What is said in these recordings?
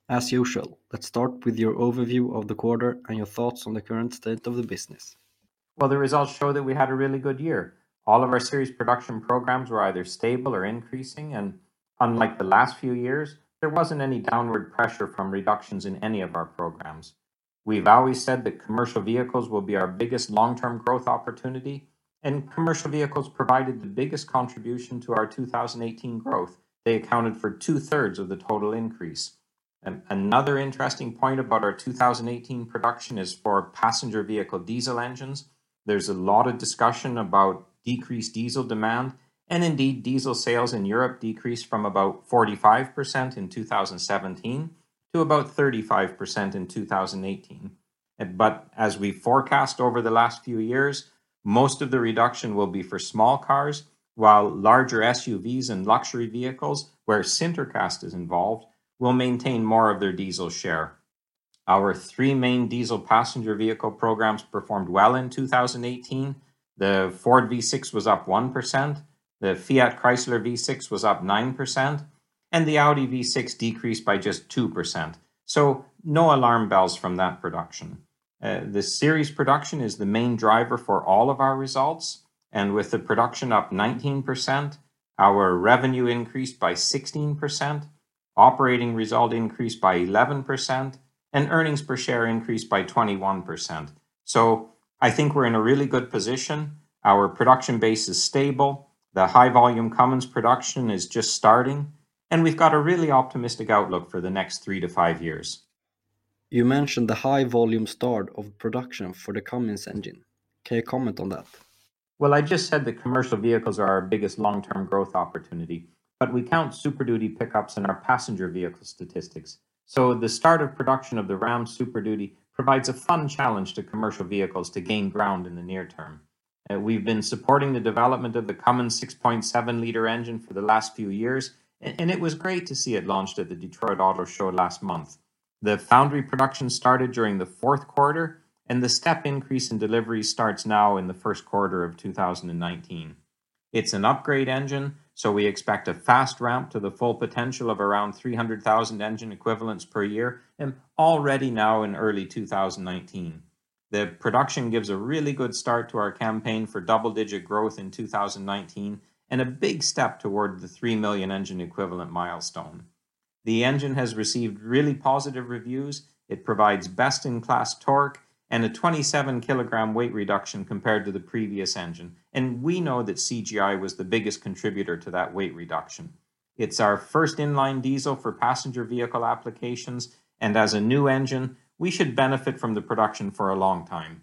As usual, let's start with your overview of the quarter and your thoughts on the current state of the business. Well, the results show that we had a really good year. All of our series production programs were either stable or increasing, and unlike the last few years, there wasn't any downward pressure from reductions in any of our programs. We've always said that commercial vehicles will be our biggest long-term growth opportunity, and commercial vehicles provided the biggest contribution to our 2018 growth. They accounted for two-thirds of the total increase. Another interesting point about our 2018 production is for passenger vehicle diesel engines. There's a lot of discussion about decreased diesel demand, and indeed, diesel sales in Europe decreased from about 45% in 2017 to about 35% in 2018. But as we forecast over the last few years, most of the reduction will be for small cars, while larger SUVs and luxury vehicles, where Sintercast is involved, will maintain more of their diesel share. Our three main diesel passenger vehicle programs performed well in 2018. The Ford V6 was up 1%, the Fiat Chrysler V6 was up 9%, and the Audi V6 decreased by just 2%. So no alarm bells from that production. The series production is the main driver for all of our results, and with the production up 19%, our revenue increased by 16%, operating result increased by 11%, and earnings per share increased by 21%. So I think we're in a really good position. Our production base is stable. The high volume Cummins production is just starting, and we've got a really optimistic outlook for the next 3 to 5 years. You mentioned the high volume start of production for the Cummins engine. Can you comment on that? Well, I just said that commercial vehicles are our biggest long-term growth opportunity, but we count Super Duty pickups in our passenger vehicle statistics. So the start of production of the Ram Super Duty provides a fun challenge to commercial vehicles to gain ground in the near term. We've been supporting the development of the Cummins 6.7-liter engine for the last few years, and it was great to see it launched at the Detroit Auto Show last month. The foundry production started during the fourth quarter, and the step increase in deliveries starts now in the first quarter of 2019. It's an upgrade engine, so we expect a fast ramp to the full potential of around 300,000 engine equivalents per year, and already now in early 2019. The production gives a really good start to our campaign for double-digit growth in 2019, and a big step toward the 3 million engine equivalent milestone. The engine has received really positive reviews. It provides best-in-class torque and a 27 kilogram weight reduction compared to the previous engine. And we know that CGI was the biggest contributor to that weight reduction. It's our first inline diesel for passenger vehicle applications, and as a new engine, we should benefit from the production for a long time.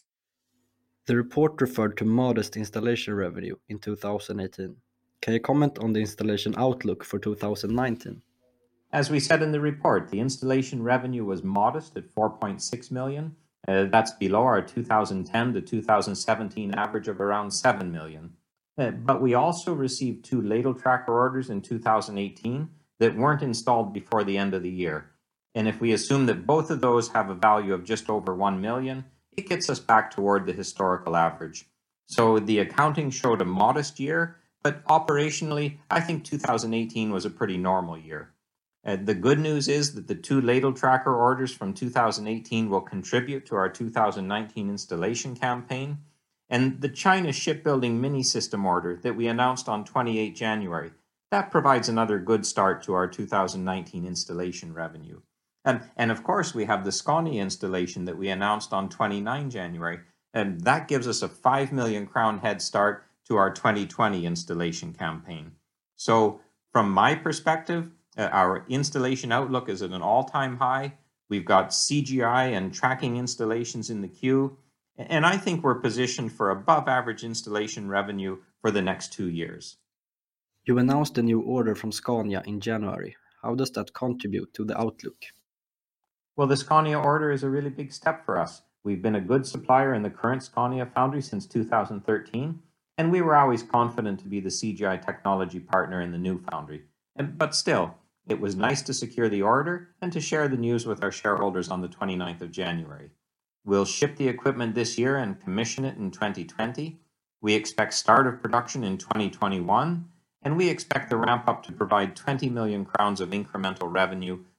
The report referred to modest installation revenue in 2018. Can you comment on the installation outlook for 2019? As we said in the report, the installation revenue was modest at 4.6 million. That's below our 2010 to 2017 average of around 7 million. But we also received 2 ladle tracker orders in 2018 that weren't installed before the end of the year. And if we assume that both of those have a value of just over 1 million, it gets us back toward the historical average. So the accounting showed a modest year, but operationally, I think 2018 was a pretty normal year. The good news is that the 2 ladle tracker orders from 2018 will contribute to our 2019 installation campaign, and the China shipbuilding mini system order that we announced on 28 January, that provides another good start to our 2019 installation revenue. And of course, we have the Scania installation that we announced on 29 January, and that gives us a 5 million crown head start to our 2020 installation campaign. So from my perspective, our installation outlook is at an all-time high. We've got CGI and tracking installations in the queue, and I think we're positioned for above-average installation revenue for the next 2 years. You announced a new order from Scania in January. How does that contribute to the outlook? Well, the Scania order is a really big step for us. We've been a good supplier in the current Scania foundry since 2013, and we were always confident to be the CGI technology partner in the new foundry. But still, it was nice to secure the order and to share the news with our shareholders on the 29th of January. We'll ship the equipment this year and commission it in 2020. We expect start of production in 2021, and we expect the ramp up to provide 20 million crowns of incremental revenue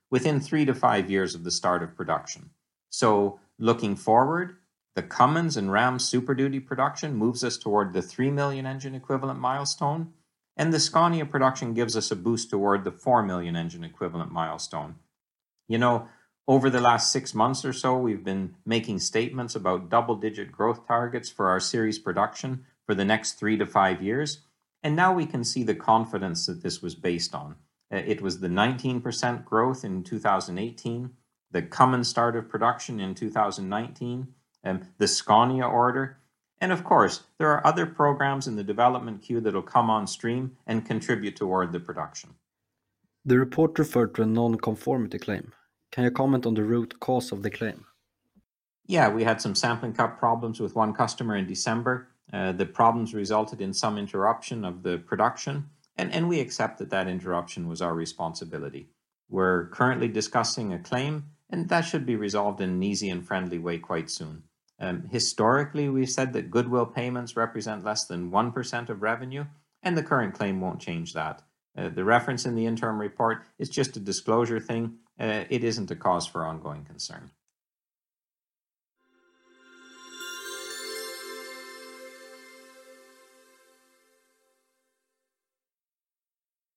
within 3 to 5 years of the start of production. So looking forward, the Cummins and Ram Super Duty production moves us toward the 3 million engine equivalent milestone, and the Scania production gives us a boost toward the 4 million engine equivalent milestone. You know, over the last 6 months or so, we've been making statements about double-digit growth targets for our series production for the next 3 to 5 years, and now we can see the confidence that this was based on. It was the 19% growth in 2018, the Cummins start of production in 2019, the Scania order, and of course, there are other programs in the development queue that will come on stream and contribute toward the production. The report referred to a non-conformity claim. Can you comment on the root cause of the claim? Yeah, we had some sampling cup problems with one customer in December. The problems resulted in some interruption of the production, and we accept that that interruption was our responsibility. We're currently discussing a claim, and that should be resolved in an easy and friendly way quite soon. Historically, we've said that goodwill payments represent less than 1% of revenue, and the current claim won't change that. The reference in the interim report is just a disclosure thing. It isn't a cause for ongoing concern.